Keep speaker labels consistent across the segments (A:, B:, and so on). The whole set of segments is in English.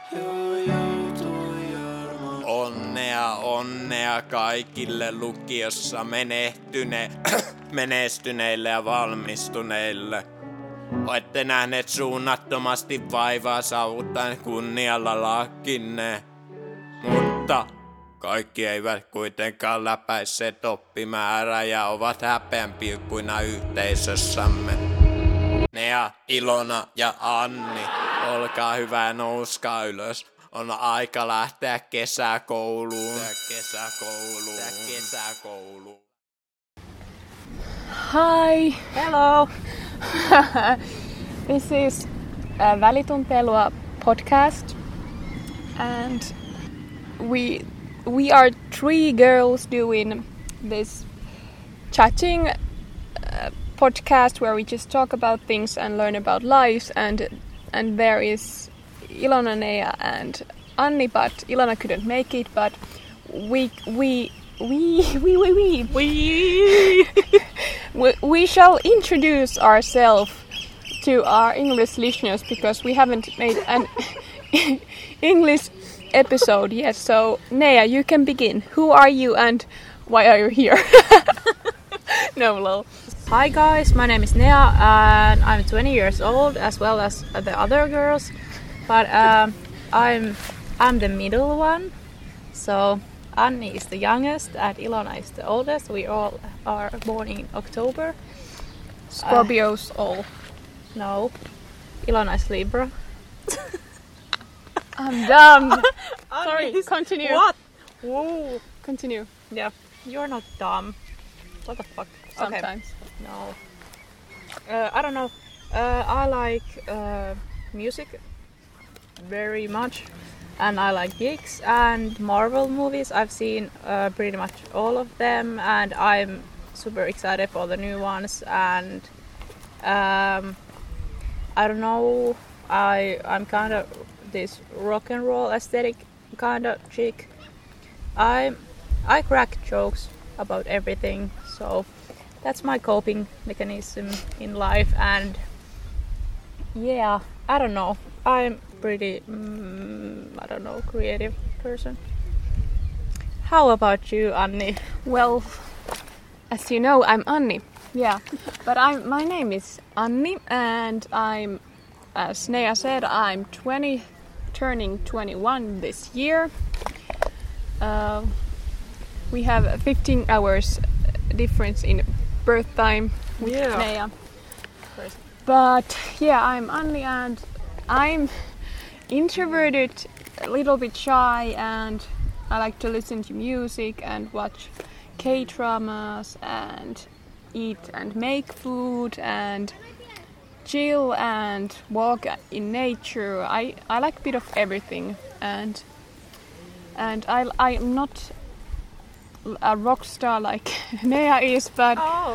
A: Onnea kaikille lukiossa menestyneille ja valmistuneille. Olette nähneet suunnattomasti vaivaa saavuttaen kunnialla lakinne. Mutta kaikki eivät kuitenkaan läpäisseet oppimäärää ja ovat häpeänpilkkuina yhteisössämme. Nea, Ilona ja Anni, olkaa hyvä, nouskaa ylös. On aika lähteä kesäkouluun.
B: Hi!
C: Hello!
B: This is a Välituntelua podcast, and we are three girls doing this chatting podcast where we just talk about things and learn about lives, and there is Ilona, Nea and Anni, but Ilona couldn't make it, but we shall introduce ourselves to our English listeners because we haven't made an English episode yet. So Nea, you can begin. Who are you and why are you here? No, lol.
C: Hi guys, my name is Nea and I'm 20 years old as well as the other girls. But I'm the middle one, so Anni is the youngest and Ilona is the oldest. We all are born in October.
B: Scorpios all.
C: No, Ilona is Libra.
B: I'm dumb. Sorry, continue.
C: What? Whoa.
B: Continue.
C: Yeah, you're not dumb. What the fuck?
B: Sometimes.
C: Okay. No. I don't know. I like music very much, and I like geeks and Marvel movies. I've seen pretty much all of them, and I'm super excited for the new ones. And I don't know, I'm kind of this rock and roll aesthetic kind of chick. I crack jokes about everything, so that's my coping mechanism in life. And yeah, I don't know, I'm pretty creative person. How about you, Anni?
B: Well, as you know, I'm Anni. Yeah, but my name is Anni, and I'm, as Nea said, I'm 20, turning 21 this year. We have 15 hours difference in birth time with Nea. But yeah, I'm Anni and I'm introverted, a little bit shy, and I like to listen to music and watch K-dramas and eat and make food and chill and walk in nature. I like a bit of everything, and I'm not a rock star like Nea is, but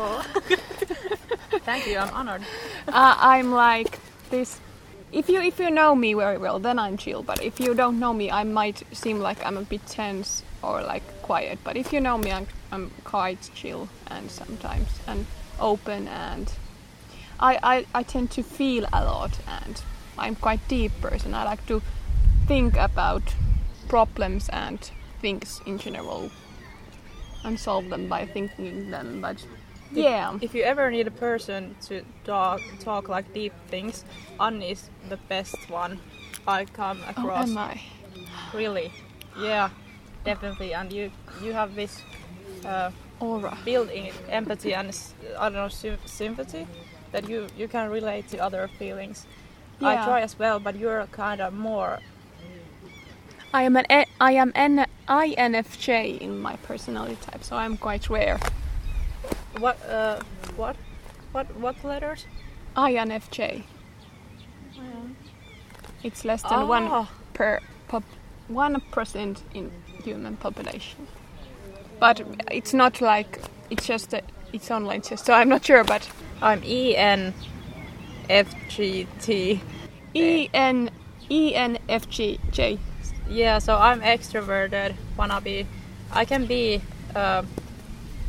C: Thank you, I'm honored.
B: I'm like this. If you know me very well, then I'm chill. But if you don't know me, I might seem like I'm a bit tense or like quiet. But if you know me, I'm quite chill and sometimes and open, and I tend to feel a lot, and I'm quite deep person. I like to think about problems and things in general and solve them by thinking them. But yeah.
C: If you ever need a person to talk like deep things, Anni is the best one I come across.
B: Oh, am I?
C: Really? Yeah, definitely. And you have this
B: aura,
C: built-in empathy and I don't know, sympathy that you can relate to other feelings.
B: Yeah.
C: I try as well, but you're kind of more.
B: I am an INFJ in my personality type, so I'm quite rare.
C: What letters?
B: INFJ. It's less than 1% in human population. But it's not like it's just it's online just, so I'm not sure. But
C: I'm ENFGT.
B: ENFJ.
C: Yeah, so I'm extroverted. I can be a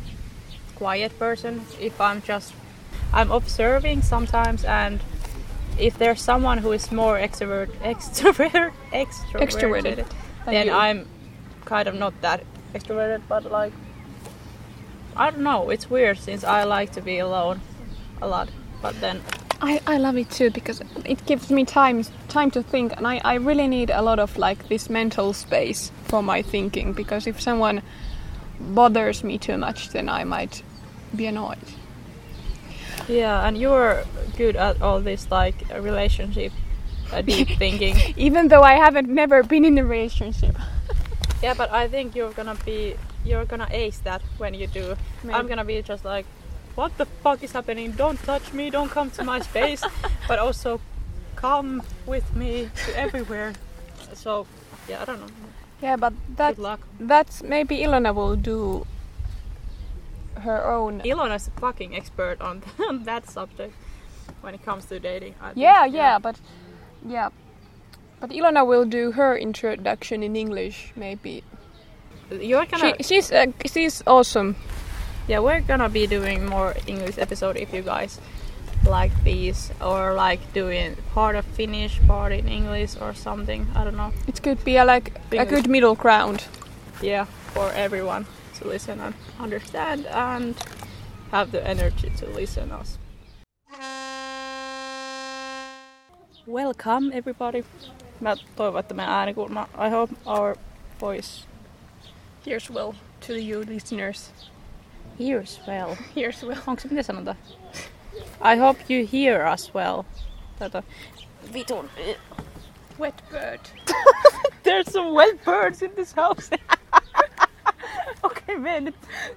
C: quiet person if I'm observing sometimes, and if there's someone who is more extroverted,
B: Extroverted.
C: then
B: you.
C: I'm kind of not that extroverted, but like I don't know, it's weird since I like to be alone a lot, but then
B: I love it too because it gives me time to think, and I really need a lot of like this mental space for my thinking, because if someone bothers me too much, then I might be annoyed.
C: yeah, and you're good at all this like relationship deep thinking.
B: Even though I haven't never been in a relationship.
C: Yeah, but I think you're gonna ace that when you do.
B: Maybe.
C: I'm gonna be just like, what the fuck is happening? Don't touch me, don't come to my space, but also come with me to everywhere. So, yeah, I don't know.
B: Yeah, but
C: Good luck.
B: that's maybe Ilona will do her own.
C: Ilona's a fucking expert on that subject when it comes to dating. I think.
B: Yeah, but Ilona will do her introduction in English, maybe.
C: You're gonna.
B: She's awesome.
C: Yeah, we're gonna be doing more English episode if you guys like these, or like doing part of Finnish, part in English or something. I don't know.
B: It could be a good middle ground.
C: Yeah, for everyone to listen and understand and have the energy to listen us. Welcome everybody. Mä toivon, että meidän äänikulma, I hope our voice
B: Here's well to you listeners.
C: hears well.
B: Here's well.
C: Onko se miten sanotaan? I hope you hear us well. Vitun.
B: Wet bird.
C: There's some wet birds in this house. Okay, man.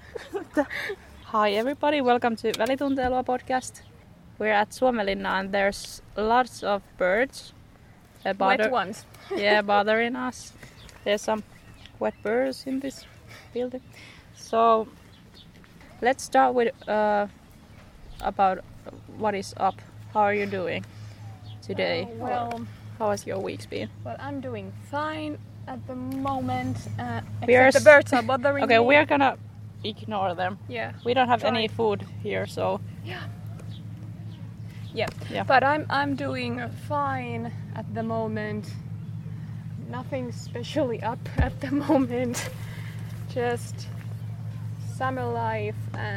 C: Hi everybody, welcome to Välitunteilua podcast. We're at Suomenlinna and there's lots of birds.
B: Wet ones.
C: Yeah, bothering us. There's some wet birds in this building. So let's start with about what is up. How are you doing today?
B: Well,
C: How has your week been?
B: I'm doing fine at the moment.
C: We are
B: Except the birds are bothering
C: Okay,
B: me.
C: we're gonna ignore them.
B: Yeah.
C: We don't have any
B: Fine.
C: food here, so
B: Yeah.
C: Yeah.
B: But I'm doing fine at the moment. Nothing specially up at the moment. Just summer life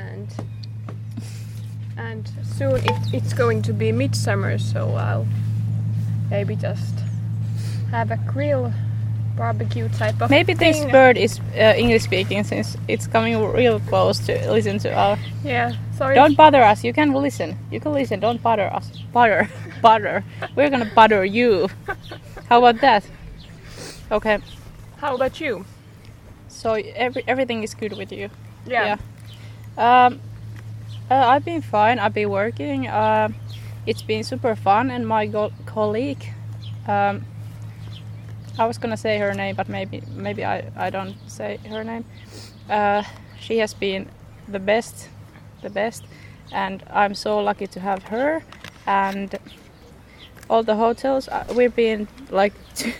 B: and soon it's going to be midsummer, so I'll maybe just have a grill barbecue type of
C: maybe
B: thing.
C: this bird is English speaking since it's coming real close to listen to our.
B: Yeah, sorry.
C: Don't bother us. You can listen. You can listen. Don't bother us. Butter. We're gonna butter you. How about that? Okay.
B: How about you?
C: So everything is good with you.
B: Yeah.
C: I've been fine. I've been working. It's been super fun, and my colleague. I was gonna say her name, but maybe I don't say her name. She has been the best, and I'm so lucky to have her. And all the hotels, we've been like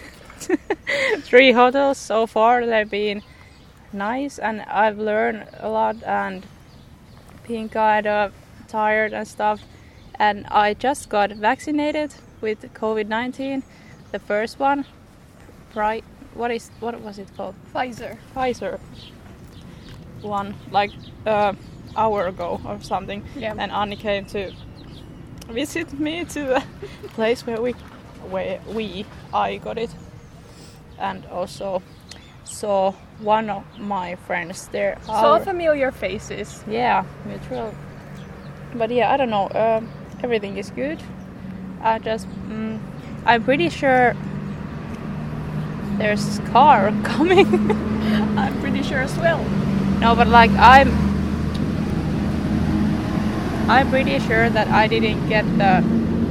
C: 3 hotels so far. They've been nice, and I've learned a lot and been kind of tired and stuff. And I just got vaccinated with COVID-19, the first one. Right? What was it called? Pfizer one, like hour ago or something.
B: Yeah.
C: And Anni came to visit me to the place where I got it, and also saw one of my friends there.
B: So familiar faces.
C: Yeah, mutual. But yeah, I don't know. Everything is good. I'm pretty sure there's a car coming.
B: I'm pretty sure as well.
C: No, but like I'm pretty sure that I didn't get the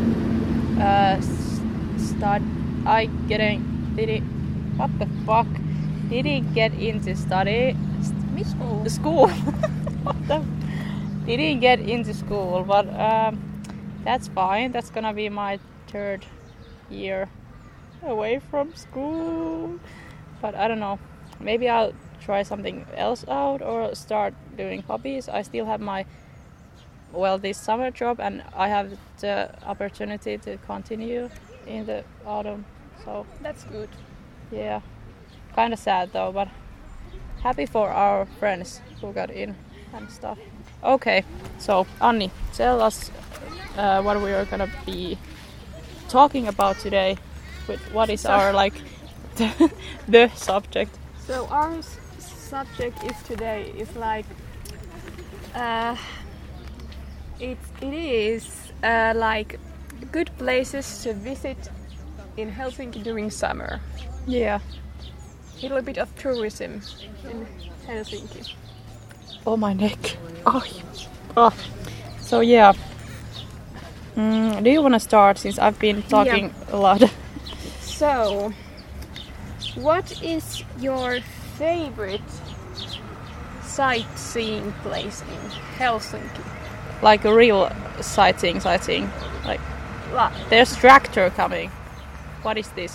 C: what the fuck? Didn't get into school. What the? Didn't get into school, but that's fine. That's gonna be my 3rd year away from school. But I don't know. Maybe I'll try something else out or start doing hobbies. I still have my this summer job, and I have the opportunity to continue in the autumn. So
B: That's good.
C: yeah, kind of sad though, but happy for our friends who got in and stuff. Okay, so Anni, tell us what we are gonna be talking about today. What is our like the subject?
B: So our subject is today is like it is like good places to visit in Helsinki during summer.
C: Yeah.
B: A little bit of tourism in Helsinki.
C: Oh, my neck. Oh. So yeah. Do you want to start since I've been talking a lot?
B: So, what is your favorite sightseeing place in Helsinki?
C: Like a real sightseeing. Like there's tractor coming. What is this?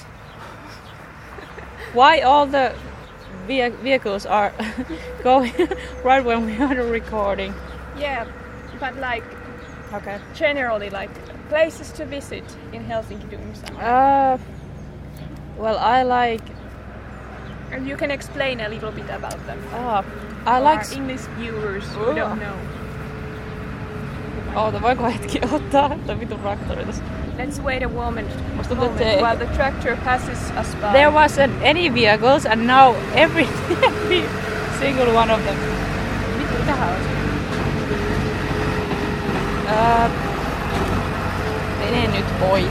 C: Why all the vehicles are going right when we are recording?
B: Yeah, but like
C: Okay.
B: generally like places to visit in Helsinki during summer.
C: Well, I like.
B: And you can explain a little bit about them.
C: I like.
B: Our English viewers who don't know.
C: Oota, voiko hetki ottaa tämän vitun traktorin tässä?
B: Let's wait a moment
C: While
B: the tractor passes us by.
C: There wasn't any vehicles and now every single one of them. Mitähän on? Mene nyt pois.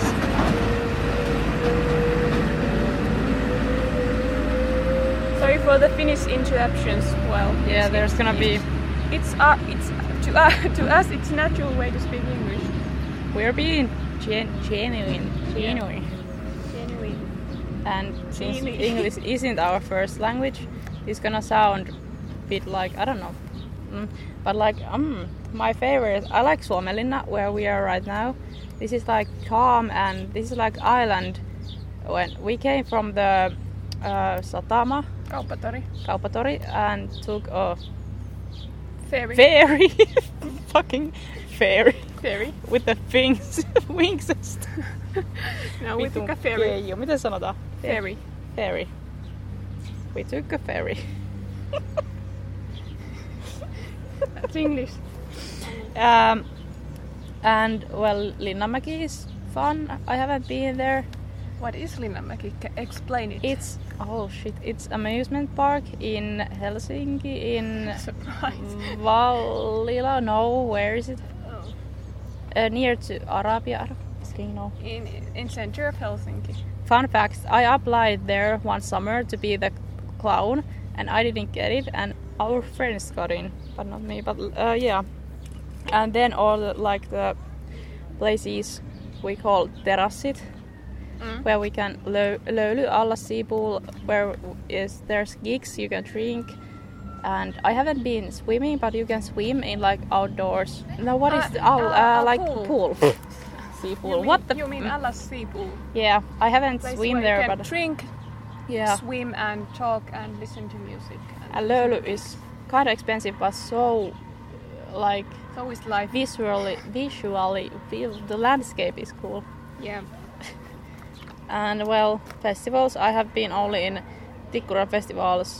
B: Sorry for the Finnish interruptions. Well,
C: Yeah, there's gonna be.
B: It's to us it's natural way to speak English.
C: We're being genuine.
B: Genuine.
C: And since
B: Genuine.
C: English isn't our first language, it's gonna sound a bit like, I don't know. But like, my favorite, I like Suomenlinna, where we are right now. This is like calm and this is like island. When we came from the Satama, Kauppatori, and took a ferry. Fucking ferry.
B: Ferry.
C: With the wings and stuff.
B: No, we took a ferry.
C: Keijo, miten sanotaan?
B: Ferry.
C: Ferry. We took a ferry.
B: That's English.
C: And well, Linnanmäki is fun. I haven't been there.
B: What is Linnanmäki? Explain it.
C: It's amusement park in Helsinki in
B: Surprise.
C: Vallila. No, where is it?
B: Oh.
C: Near to Arabia. No.
B: In center of Helsinki.
C: Fun fact, I applied there one summer to be the clown and I didn't get it and our friends got in, but not me, but yeah. And then all the places we call terassit, where we can löyly alla sea pool, where there's gigs, you can drink. And I haven't been swimming, but you can swim in like outdoors. No, what is like pool. Sea pool.
B: You mean Allas sea pool?
C: Yeah, I haven't
B: Place
C: swim
B: where
C: there,
B: you can
C: but
B: drink,
C: yeah.
B: swim and talk and listen to music.
C: And löyly is kind of expensive, but so like
B: So is life.
C: visually, the landscape is cool.
B: Yeah.
C: And well, festivals, I have been only in Tikkura festivals,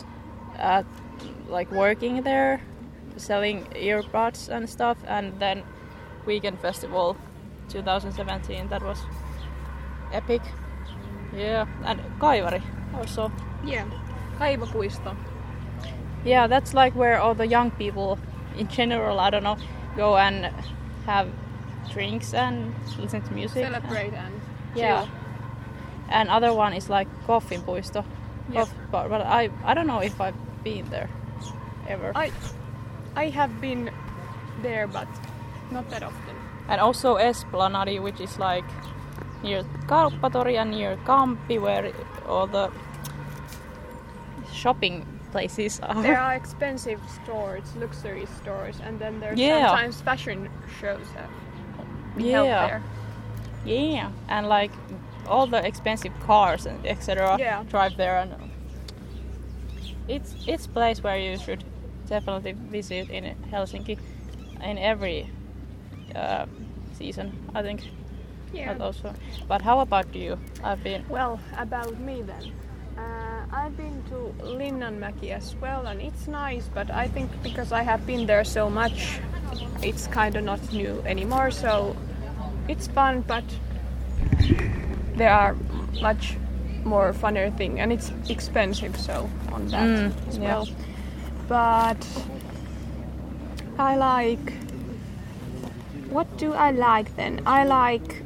C: like working there, selling earbuds and stuff, and then Weekend Festival 2017, that was epic. Yeah, and Kaivari also.
B: Yeah. Kaivopuisto.
C: Yeah, that's like where all the young people in general, I don't know, go and have drinks and listen to music.
B: Celebrate and
C: Yeah.
B: chill.
C: And other one is like Koffinpuisto.
B: Yes.
C: But I don't know if I've been there ever.
B: I have been there, but not that often.
C: And also Esplanadi, which is like near Kauppatori and near Kamppi, where all the shopping places are.
B: There are expensive stores, luxury stores, and then there's
C: Yeah.
B: sometimes fashion shows that we help there.
C: Yeah, and like all the expensive cars and etc.
B: Yeah.
C: drive there, and it's a place where you should definitely visit in Helsinki in every season, I think.
B: Yeah.
C: Not also. But how about you? I've been.
B: Well, about me then. I've been to Linnanmäki as well, and it's nice, but I think because I have been there so much, it's kind of not new anymore, so it's fun, but there are much more funner things, and it's expensive, so on that as
C: yeah.
B: well. But I like... What do I like then? I like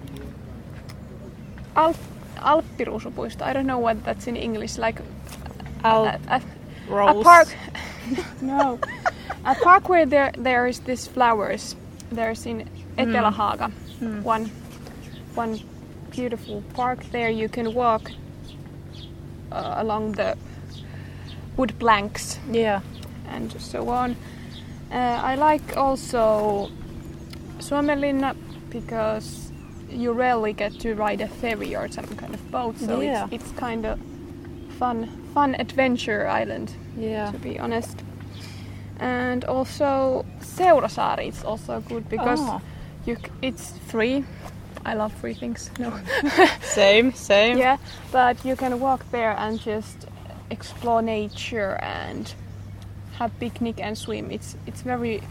B: Alppiruusupuisto. I don't know what that's in English. Like a park. No, a park where there is this flowers. There's in Etelä-Haaga one beautiful park. There you can walk along the wood planks.
C: Yeah.
B: And so on. I like also Suomenlinna because you rarely get to ride a ferry or some kind of boat, so it's kind of fun adventure island, to be honest. And also Seurasaari is also good because it's free. I love free things. No.
C: Same.
B: Yeah, but you can walk there and just explore nature and have picnic and swim. It's very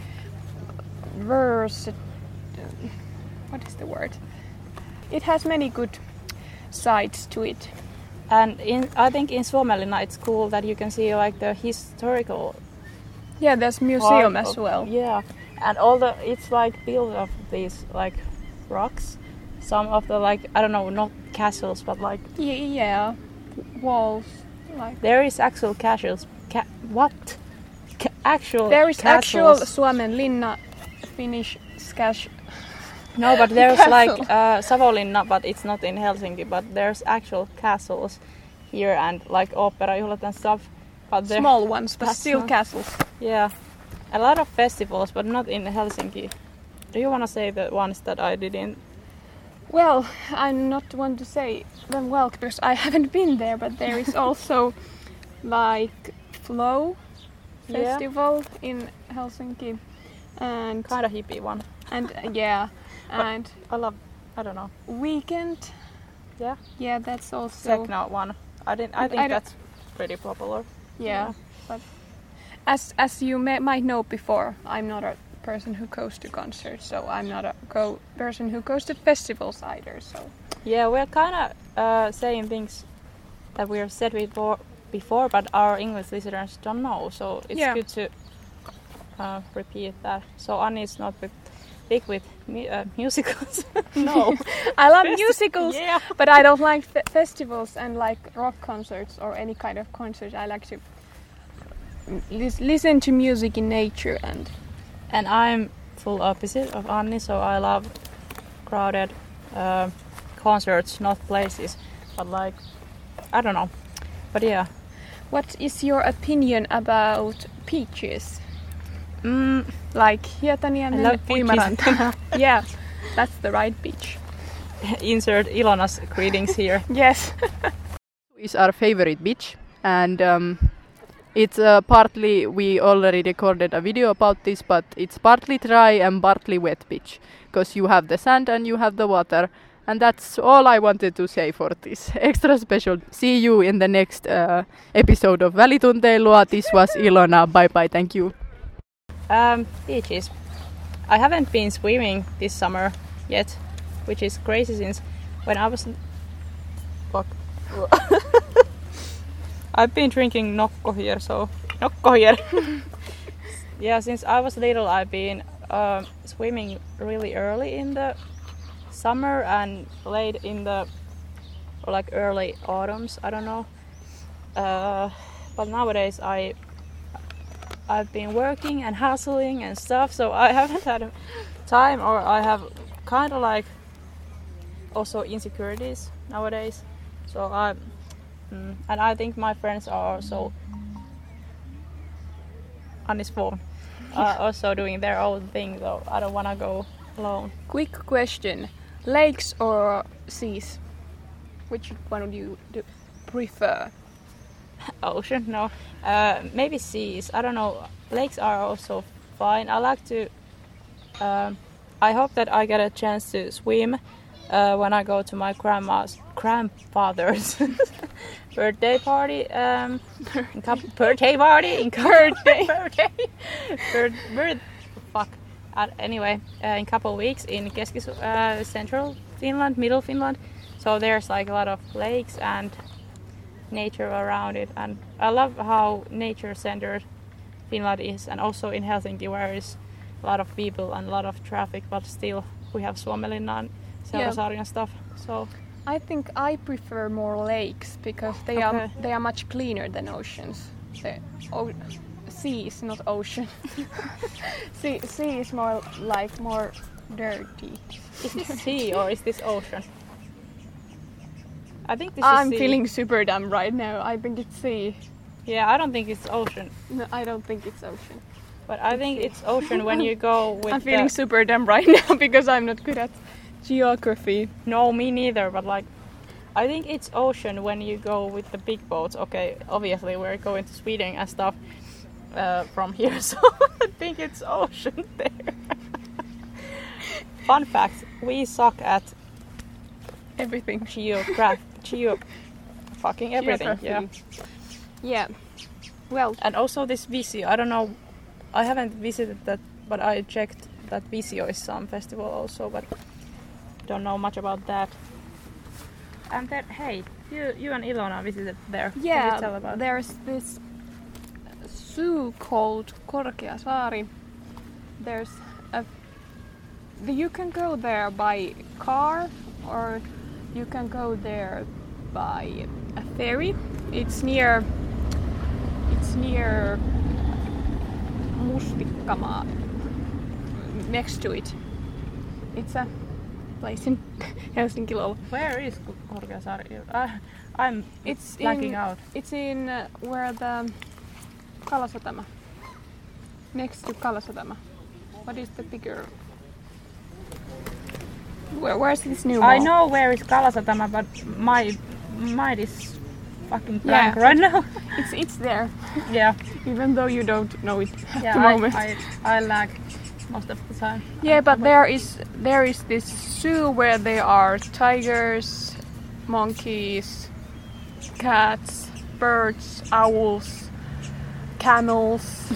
B: what is the word? It has many good sides to it.
C: And I think in Suomenlinna it's cool that you can see like the historical.
B: Yeah, there's museum as well.
C: Yeah, and it's like built of these like rocks. Some of the like I don't know, not castles, but like
B: yeah, walls. Like
C: there is actual castles. Actual.
B: There is
C: castles.
B: actual Suomenlinna, Finnish cash.
C: No, but there's
B: castle.
C: like Savonlinna, but it's not in Helsinki. But there's actual castles here and like operajuhlat and stuff. But
B: Small ones, but still castles.
C: Yeah, a lot of festivals, but not in Helsinki. Do you want to say the ones that I didn't?
B: Well, I'm not one to say them well because I haven't been there, but there is also like Flow festival in Helsinki and
C: Kind of hippie one.
B: and and
C: I don't know.
B: Weekend.
C: Yeah.
B: Yeah, that's also
C: Techno one. I think that's pretty popular.
B: Yeah, but as you might know before, I'm not a person who goes to concerts, so I'm not a person who goes to festivals either. So
C: Yeah, we're kind of saying things that we have said before, but our English listeners don't know. So it's good to repeat that. So Anni is not big with musicals.
B: No, I love musicals, but I don't like festivals and like rock concerts or any kind of concert. I like to listen to music in nature
C: and I'm full opposite of Anni, so I love crowded concerts, not places, but like I don't know. But yeah.
B: What is your opinion about beaches? Like Hietaniemen,
C: I love
B: Uimaranta. Yeah, that's the right beach.
C: Insert Ilona's greetings here.
B: Yes.
D: Is our favorite beach, and it's partly, we already recorded a video about this, but it's partly dry and partly wet beach, because you have the sand and you have the water, and that's all I wanted to say for this extra special. See you in the next episode of Välitunteilua. This was Ilona. Bye bye, thank you.
C: Beaches. I haven't been swimming this summer yet, which is crazy since when I was... Fuck. I've been drinking Nokko here, so... Nokko here! Yeah, since I was little I've been swimming really early in the summer and late in the... or like early autumns, I don't know. But nowadays I've been working and hustling and stuff, so I haven't had time, or I have kind of like also insecurities nowadays. So and I think my friends are also on this phone, also doing their own thing, so I don't want to go alone.
B: Quick question: lakes or seas? Which one would you prefer?
C: Ocean, no. Maybe seas. I don't know. Lakes are also fine. I like to I hope that I get a chance to swim when I go to my grandfather's birthday party. Fuck. Anyway, in couple weeks in central Finland, middle Finland. So there's like a lot of lakes and nature around it, and I love how nature-centered Finland is, and also in Helsinki where is a lot of people and a lot of traffic, but still we have Suomenlinna and Selkäsaari and stuff. So
B: I think I prefer more lakes because they are much cleaner than oceans. The sea is not ocean. sea is more dirty.
C: is this sea or is this ocean? I think this
B: I'm
C: is sea.
B: feeling super dumb right now. I think it's sea.
C: Yeah, I don't think it's ocean.
B: No, I don't think it's ocean.
C: But I think it's ocean when you go with
B: I'm feeling super dumb right now because I'm not good at geography.
C: No, me neither, but like I think it's ocean when you go with the big boats. Okay, obviously we're going to Sweden and stuff from here, so I think it's ocean there. Fun fact, we suck at
B: Everything.
C: fucking everything. Yeah.
B: Yeah. Well,
C: And also this Visio, I don't know, I haven't visited that, but I checked that Visio is some festival also, but don't know much about that. And then, hey, you and Ilona visited there. Can you tell about
B: there's this zoo called Korkeasaari. You can go there by car or you can go there by a ferry. It's near Mustikkamaa, next to it. It's a place in Helsinki.
C: Where is Korkeasaari? I'm blacking out.
B: It's in where the Kalasatama. Next to Kalasatama. What is the bigger? Where's this new mall?
C: I know where is Kalasatama, but my mind is fucking blank right now.
B: It's there.
C: Yeah.
B: Even though you don't know it at the
C: Yeah,
B: moment.
C: I lag most of the time.
B: Yeah, but there is this zoo where there are tigers, monkeys, cats, birds, owls, camels,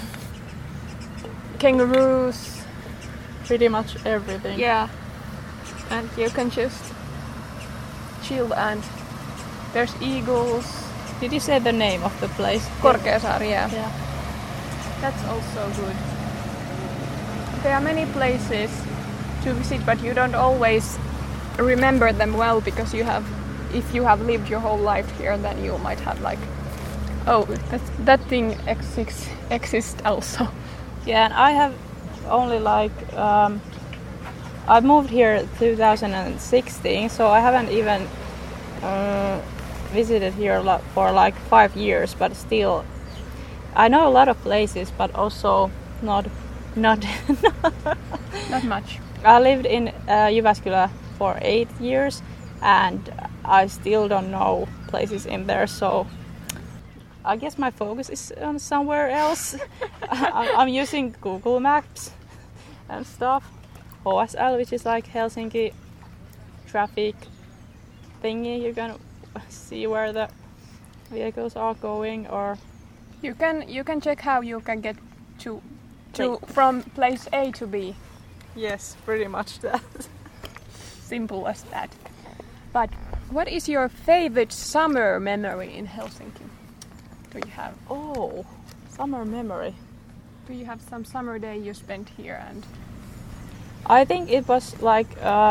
B: kangaroos.
C: Pretty much everything.
B: Yeah, and you can just chill, and there's eagles.
C: Did you say the name of the place?
B: Korkeasaari, yeah.
C: Yeah.
B: That's also good. There are many places to visit, but you don't always remember them well because if you have lived your whole life here, then you might have like, oh, that thing exists also.
C: Yeah, and I have only like I moved here 2016, so I haven't even visited here for like 5 years, but still I know a lot of places, but also not
B: Not much.
C: I lived in Jyväskylä for 8 years and I still don't know places in there, so I guess my focus is on somewhere else. I'm using Google Maps and stuff. HSL, which is like Helsinki traffic thingy. You can see where the vehicles are going, or
B: You can check how you can get to from place A to B.
C: yes, pretty much that.
B: Simple as that. But what is your favorite summer memory in Helsinki? Do you have?
C: Oh, summer memory.
B: Do you have some summer day you spent here? And
C: I think it was like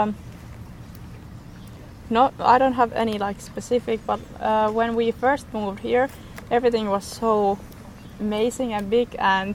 C: I don't have any like specific, but when we first moved here, everything was so amazing and big and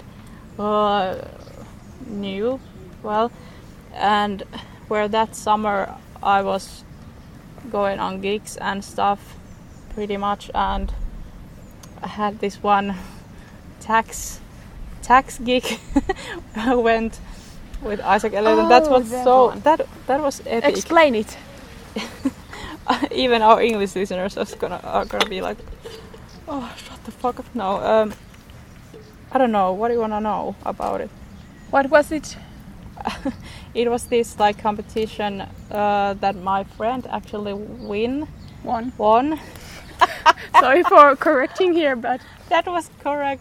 C: new. Well, and where that summer I was going on gigs and stuff pretty much, and I had this one tax gig. I went with Isaac Elliot. That was that was epic.
B: explain it.
C: Even our English listeners are gonna be like, oh, shut the fuck up. No, I don't know. What do you wanna know about it?
B: What was it?
C: it was this like competition that my friend actually won.
B: Sorry for correcting here, but
C: That was correct.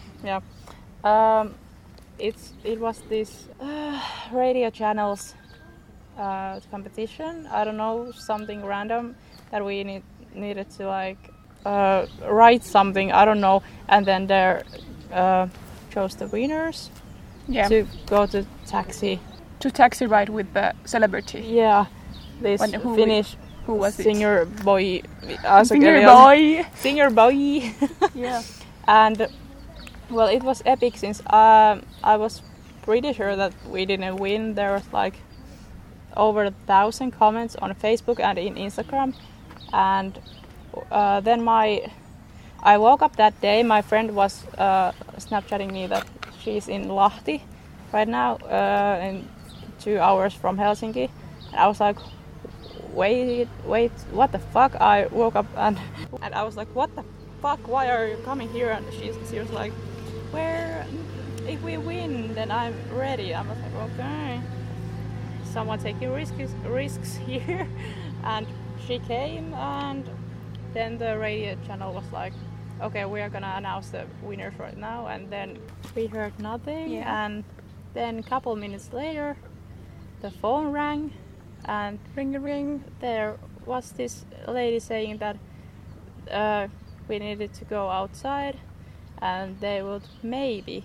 C: It was this radio channels competition. I don't know, something random that we needed to like write something. I don't know, and then they chose the winners to go to taxi.
B: to taxi ride with the celebrity.
C: Yeah, this Finnish
B: Who was it?
C: singer boy. Singer boy.
B: Yeah.
C: And well, it was epic since I was pretty sure that we didn't win. There was like over 1,000 comments on Facebook and in Instagram. And then I woke up that day. My friend was Snapchatting me that she's in Lahti right now, in 2 hours from Helsinki. And I was like, wait, what the fuck? I woke up and I was like, what the fuck? Why are you coming here? And she was like, if we win, then I'm ready. I was like, okay. Someone taking risks here. And she came, and then the radio channel was like, okay, we are gonna announce the winners right now. And then we heard nothing.
B: Yeah.
C: And then a couple minutes later, the phone rang, and
B: Ring.
C: there was this lady saying that we needed to go outside, and they would maybe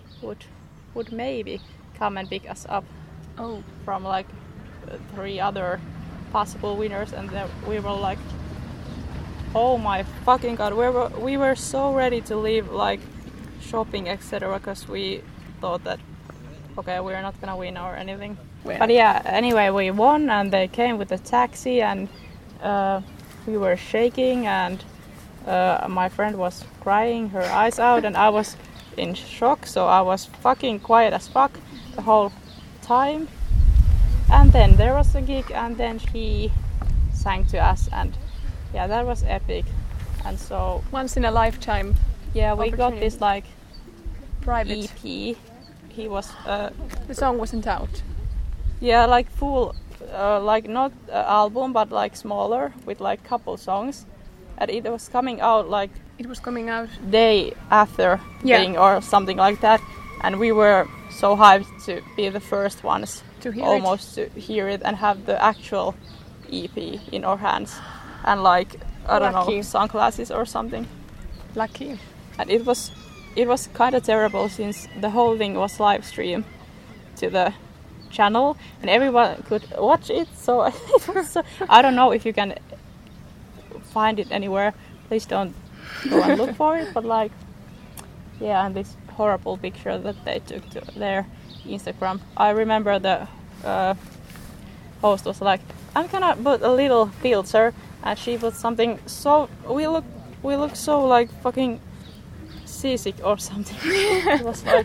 C: come and pick us up
B: Oh.
C: from like 3 other possible winners. And then we were like, oh my fucking god, we were so ready to leave, like shopping, etc., because we thought that okay, we're not gonna win or anything.
B: Well.
C: But yeah, anyway, we won, and they came with a taxi, and we were shaking, and my friend was crying her eyes out, and I was in shock, so I was fucking quiet as fuck the whole time. And then there was a gig, and then she sang to us, and yeah, that was epic. And so
B: Once in a lifetime
C: yeah, we got
B: opportunity.
C: this like
B: private.
C: EP. He was
B: The song wasn't out.
C: yeah, like full, like not album, but like smaller with like couple songs, and it was coming out like
B: It was coming out.
C: day after thing or something like that, and we were so hyped to be the first ones
B: To hear
C: almost to hear it and have the actual EP in our hands, and like I don't know,
B: Lucky.
C: sunglasses or something.
B: Lucky.
C: And it was kind of terrible since the whole thing was live streamed to the channel and everyone could watch it. So it was so, I don't know if you can find it anywhere. Please don't go and look for it. But like, yeah, and this horrible picture that they took to their Instagram. I remember the host was like, "I'm gonna put a little filter," and she put something. So we look so like fucking seasick or something. It was like,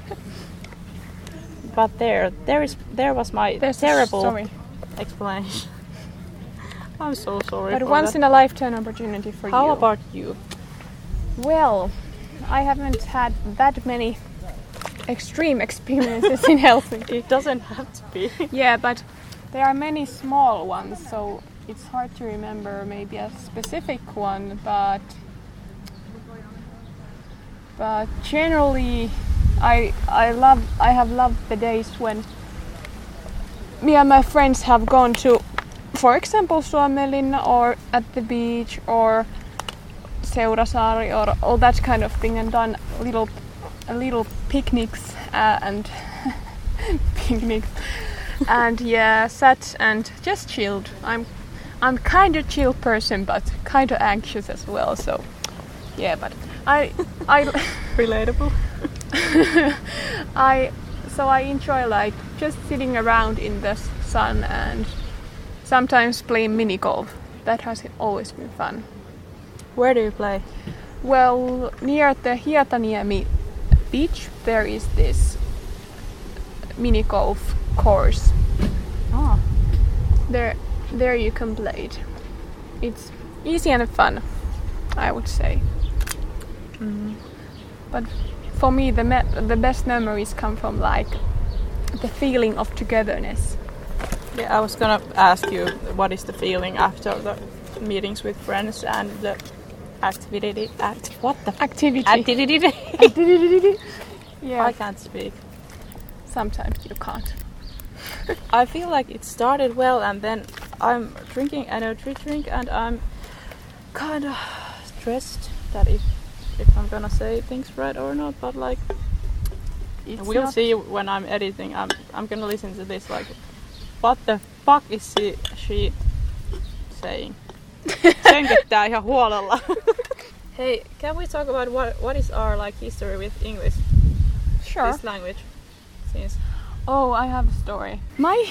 C: but there was my
B: There's
C: terrible
B: Sorry.
C: explanation. I'm so sorry.
B: But
C: for
B: once
C: that.
B: in a lifetime opportunity for
C: How
B: you.
C: about you?
B: Well, I haven't had that many extreme experiences in Helsinki.
C: It doesn't have to be.
B: Yeah, but there are many small ones, so it's hard to remember maybe a specific one, but generally I have loved the days when me and my friends have gone to, for example, Suomenlinna or at the beach or Seurasaari or all that kind of thing, and done little picnics and picnics and yeah, sat and just chilled. I'm kind of chill person, but kind of anxious as well. So yeah, but I
C: Relatable.
B: I enjoy like just sitting around in the sun and sometimes playing mini golf. That has always been fun.
C: Where do you play?
B: Well, near the Hietaniemi beach there is this mini golf course.
C: Oh.
B: There you can play it. It's easy and fun, I would say. But for me, the best memories come from like the feeling of togetherness.
C: Yeah, I was gonna ask you what is the feeling after the meetings with friends and the activity. Activity.
B: Yeah.
C: I can't speak.
B: Sometimes you can't.
C: I feel like it started well, and then I'm drinking energy drink, and I'm kind of stressed that if I'm gonna say things right or not. But like, we'll see when I'm editing. I'm gonna listen to this like, what the fuck is she saying? Sönköttää ihan huolella. Hey, can we talk about what is our like history with English?
B: Sure.
C: This language. Since
B: Oh, I have a story.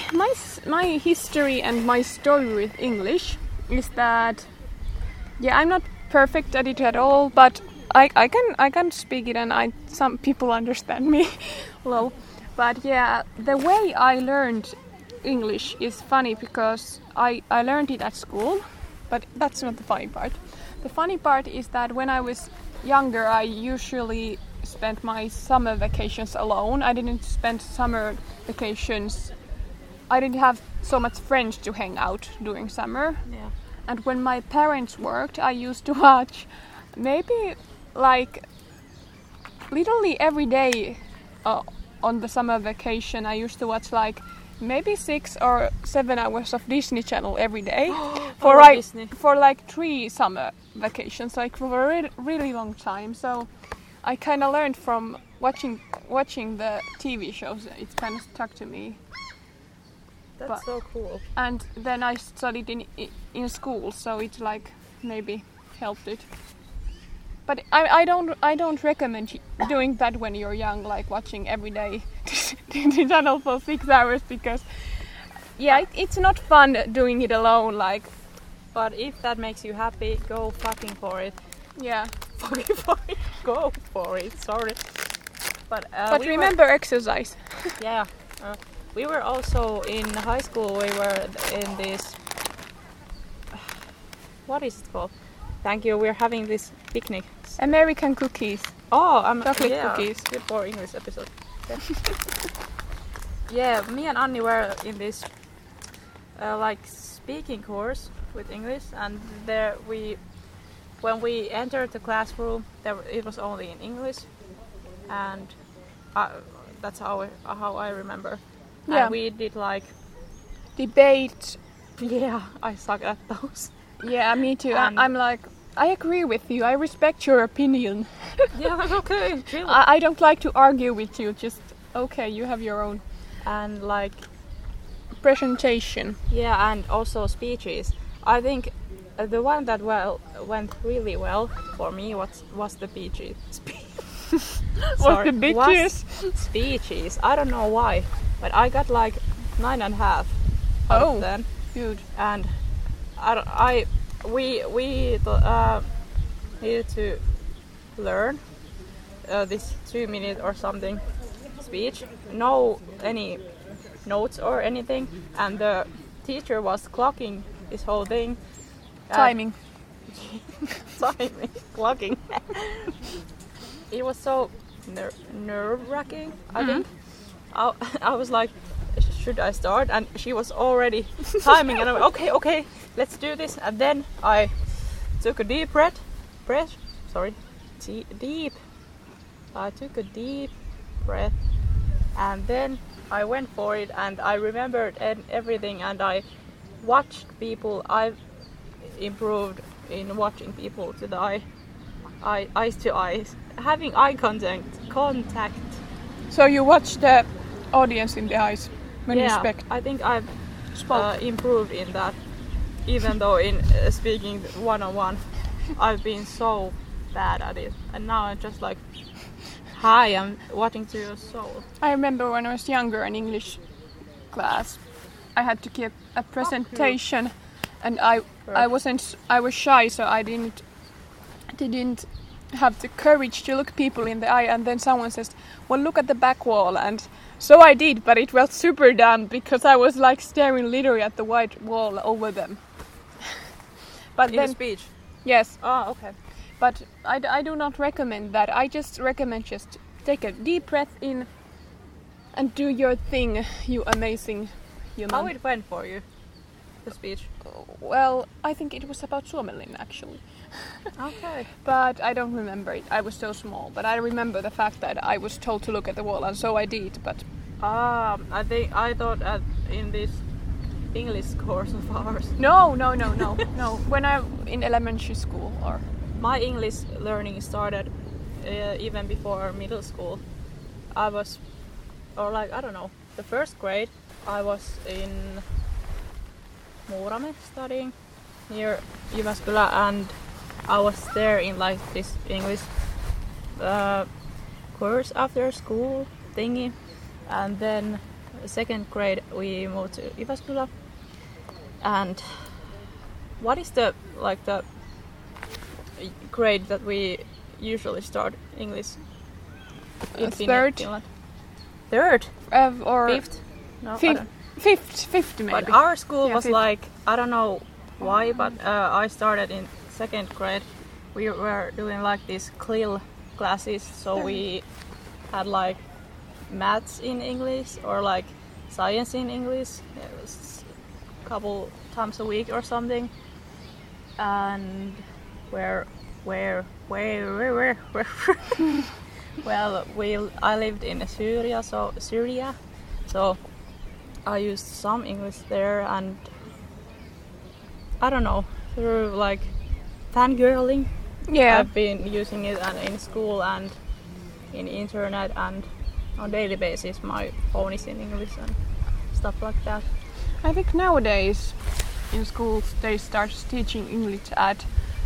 B: My history and my story with English is that, yeah, I'm not perfect at it at all, but I can speak it and some people understand me. Lol. But yeah, the way I learned English is funny because I learned it at school, but that's not the funny part. The funny part is that when I was younger, I usually spent my summer vacations alone. I didn't spend summer vacations. I didn't have so much friends to hang out during summer.
C: yeah.
B: And when my parents worked, I used to watch maybe like literally every day on the summer vacation. I used to watch like maybe 6 or 7 hours of Disney Channel every day for like 3 summer vacations, like for a really long time. So I kind of learned from watching the TV shows. It kind of stuck to me.
C: That's so cool.
B: And then I studied in school, so it like maybe helped it. But I don't recommend doing that when you're young, like watching every day Disney Channel for 6 hours, because yeah, it's not fun doing it alone. Like,
C: But if that makes you happy, go fucking for it.
B: yeah.
C: Fucking for it. Go for it. Sorry. But
B: Remember exercise.
C: Yeah. We were also in high school. We were in this. What is it called? Thank you. We're having this picnic.
B: American cookies.
C: Oh,
B: Chocolate cookies.
C: Good for English episode. Yeah. Yeah, me and Anni were in this like speaking course with English, and there when we entered the classroom, it was only in English, and that's how I remember.
B: Yeah.
C: And we did like
B: Debate.
C: yeah, I suck at those.
B: Yeah, me too.
C: And-
B: I'm like, I agree with you. I respect your opinion.
C: Yeah, okay, chill.
B: I don't like to argue with you. Just okay, you have your own
C: And like
B: presentation.
C: yeah, and also speeches. I think the one that went really well for me was the speeches.
B: What the bitches?
C: Speeches. I don't know why, but I got like 9.5 out
B: Oh.
C: of 10.
B: Good.
C: And we needed to learn this 2-minute or something speech. No any notes or anything, and the teacher was clocking this whole thing.
B: Timing.
C: Timing, clocking. It was so nerve-wracking, I think. I was like, should I start? And she was already timing, and I went, okay, let's do this. And then I took a deep breath. I took a deep breath, and then I went for it, and I remembered everything, and I watched people. I've improved in watching people to the eyes to eyes, having eye contact.
B: So you watch the audience in the eyes when you
C: Yeah,
B: speak.
C: I think I've
B: Spoke.
C: improved in that, even though in speaking one-on-one I've been so bad at it, and now I'm just like, hi, I'm watching to your soul.
B: I remember when I was younger in English class, I had to give a presentation, and I was shy, so I didn't have the courage to look people in the eye, and then someone says, well, look at the back wall, and so I did, but it was super dumb because I was like staring literally at the white wall over them. But
C: In
B: then
C: the speech.
B: yes,
C: Oh, okay.
B: but I do not recommend that. I just recommend just take a deep breath in And do your thing, you amazing human.
C: How it went for you, the speech?
B: Well, I think it was about Suomenlinna actually.
C: Okay.
B: But I don't remember it. I was so small. But I remember the fact that I was told to look at the wall, and so I did. But
C: I thought in this English course of ours.
B: no. When I in elementary school, or
C: My English learning started even before middle school. I was, or like, I don't know, the first grade I was in Muurame studying near Jyväskylä, and I was there in like this English course after school thingy, and then second grade we moved to Jyväskylä. And what is the grade that we usually start English in
B: third.
C: Finland? Third?
B: Or
C: Fifth? No, I
B: fifth,
C: don't-
B: fifth maybe.
C: But our school
B: Yeah,
C: was
B: fifth.
C: like, I don't know why, but I started in second grade. We were doing like these CLIL classes, so we had like maths in English or like science in English. It was a couple times a week or something. And where? Well, I lived in Syria, so I used some English there, and I don't know, through like fangirling,
B: Yeah.
C: I've been using it in school and in internet, and on daily basis my phone is in English and stuff like that.
B: I think nowadays in schools they start teaching English at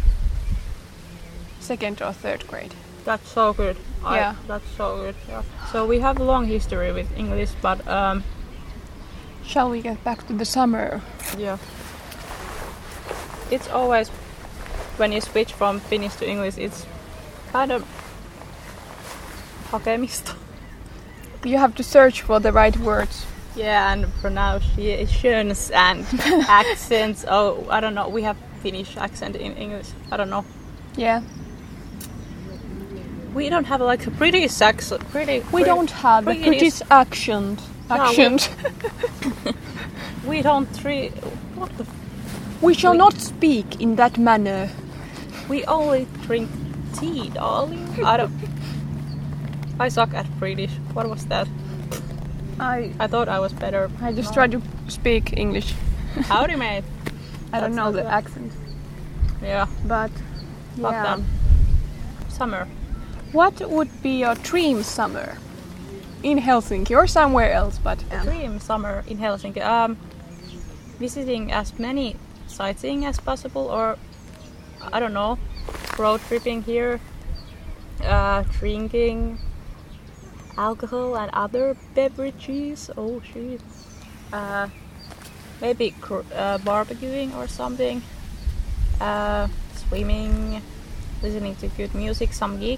B: second or third grade.
C: That's so good.
B: Yeah.
C: That's so good. Yeah. So we have a long history with English, but
B: Shall we get back to the summer?
C: yeah, it's always when you switch from Finnish to English, it's kind of hakemista.
B: You have to search for the right words.
C: Yeah, and pronunciations and accents. Oh, I don't know. We have Finnish accent in English. I don't know.
B: Yeah.
C: We don't have like a British accent.
B: We don't have a British accent.
C: We don't treat. What the?
B: We shall not speak in that manner.
C: We only drink tea, darling. I suck at British. What was that? I thought I was better.
B: I just tried to speak English.
C: Howdy, mate.
B: I don't
C: That's
B: know
C: not
B: the
C: bad.
B: accent,
C: Yeah.
B: but
C: Fuck
B: yeah.
C: them. Summer.
B: What would be your dream summer in Helsinki or somewhere else? But
C: Dream summer in Helsinki. Visiting as many sightseeing as possible, or I don't know, road tripping here, drinking alcohol and other beverages. Oh shit. Maybe barbecuing or something. Swimming, listening to good music, some gig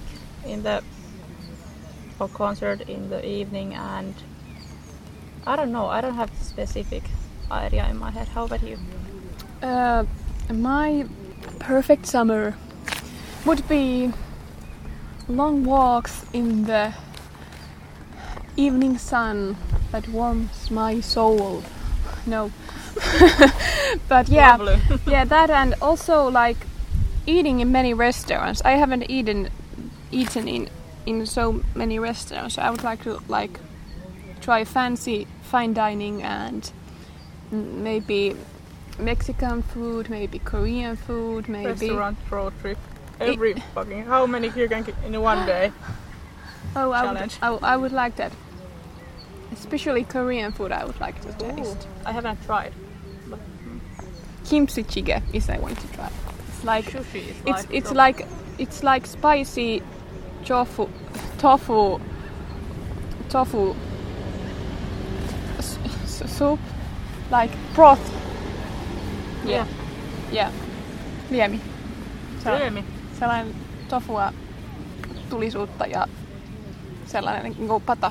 C: or concert in the evening, and I don't know. I don't have a specific idea in my head. How about you?
B: my perfect summer would be long walks in the evening sun that warms my soul. No. But yeah,
C: Lovely.
B: yeah, that, and also like eating in many restaurants. I haven't eaten in so many restaurants. I would like to try fancy fine dining and maybe Mexican food, maybe Korean food, maybe
C: Restaurant road trip. Every fucking. How many you can get in one day?
B: Oh,
C: challenge.
B: I would like that. Especially Korean food, I would like to taste.
C: I haven't tried.
B: Kimchi jjigae is I want to try. It's like
C: Sushi is
B: it's like spicy tofu soup, like broth.
C: Yeah.
B: Yeah. Liemi.
C: Liemi.
B: Sellainen tofua tulisuutta ja sellainen niinku pata.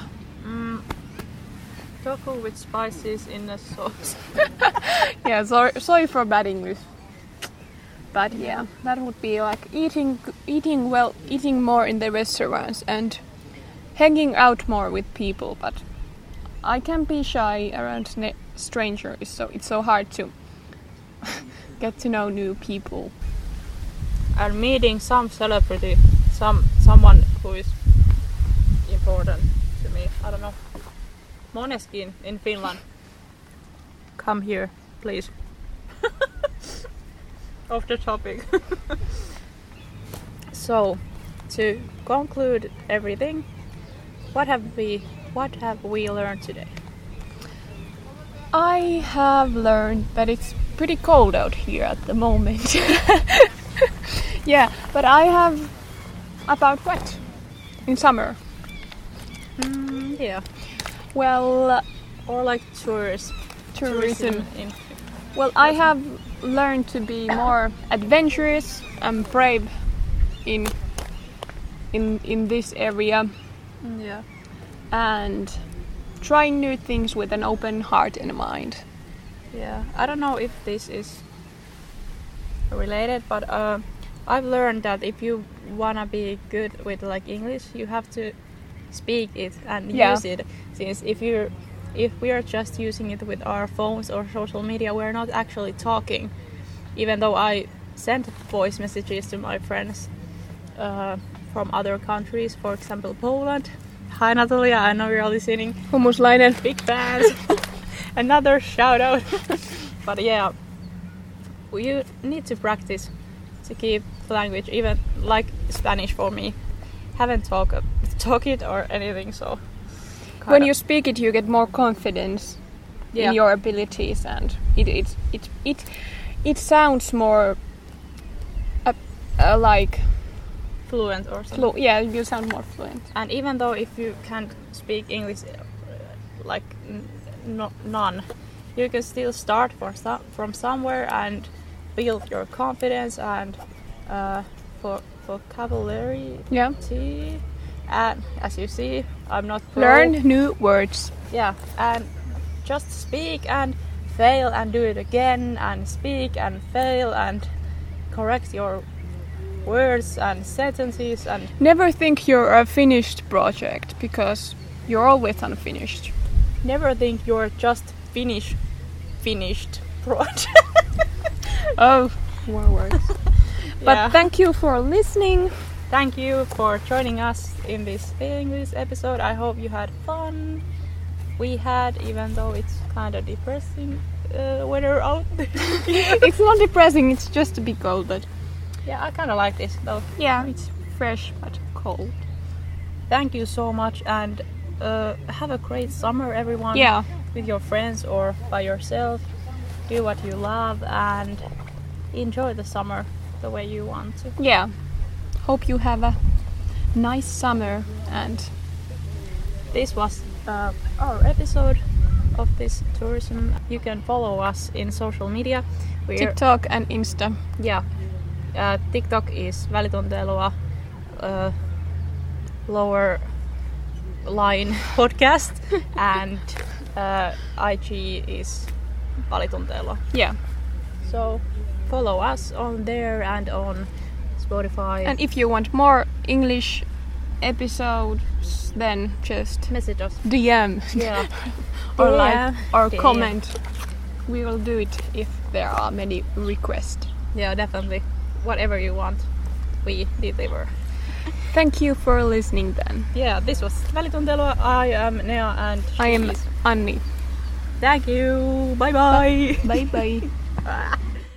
C: Tofu with spices in a sauce.
B: Yeah, sorry for bad English. But yeah, that would be like eating more in the restaurants and hanging out more with people. But I can be shy around strangers, so it's so hard to get to know new people.
C: And meeting some celebrity, someone who is important to me. I don't know. Måneskin in Finland. Come here, please. Off the topic. So, to conclude everything, what have we learned today?
B: I have learned that it's pretty cold out here at the moment. Yeah, but I have about what? In summer?
C: Yeah.
B: Well,
C: Or like tourism. In
B: well, I have learned to be more adventurous and brave in this area,
C: yeah.
B: and trying new things with an open heart and mind.
C: Yeah. I don't know if this is related, but I've learned that if you wanna be good with like English, you have to speak it and use it. Since if we are just using it with our phones or social media, we're not actually talking. Even though I send voice messages to my friends from other countries, for example Poland. Hi Natalia, I know you're listening.
B: Hummuslainen.
C: Big fans. Another shout out. But yeah, you need to practice to keep the language, even like Spanish for me. Haven't talk it or anything, so
B: When you speak it, you get more confidence in your abilities, and it sounds more like
C: fluent or something.
B: yeah, you sound more fluent.
C: And even though if you can't speak English like none, you can still start from somewhere and build your confidence and for vocabulary.
B: Yeah.
C: And as you see, I'm not pro.
B: Learn new words.
C: Yeah, and just speak and fail and do it again and speak and fail and correct your words and sentences and
B: Never think you're a finished project, because you're always unfinished.
C: never think you're just finished project.
B: Oh, more words. But thank you for listening.
C: Thank you for joining us in this English episode. I hope you had fun. We had, even though it's kind of depressing weather out there.
B: It's not depressing, it's just a bit cold, but
C: Yeah, I kind of like this though.
B: yeah, it's fresh but cold.
C: Thank you so much, and have a great summer, everyone.
B: Yeah.
C: With your friends or by yourself. Do what you love and enjoy the summer the way you want to.
B: Yeah. Hope you have a nice summer, and
C: This was our episode of this tourism. You can follow us in social media. We're,
B: TikTok and Insta.
C: Yeah. TikTok is Välitunteilua lower line podcast and IG is Välitunteilua.
B: Yeah.
C: So follow us on there and on Spotify.
B: And if you want more English episodes, then just
C: message us.
B: DM
C: Yeah.
B: or
C: DM.
B: like or
C: DM.
B: comment. We will do it if there are many requests.
C: Yeah, definitely. Whatever you want, we deliver.
B: Thank you for listening then.
C: Yeah, this was Välitunteilua. I am Nea and
B: I am
C: she's-
B: Anni.
C: Thank you. Bye bye.
B: Bye bye.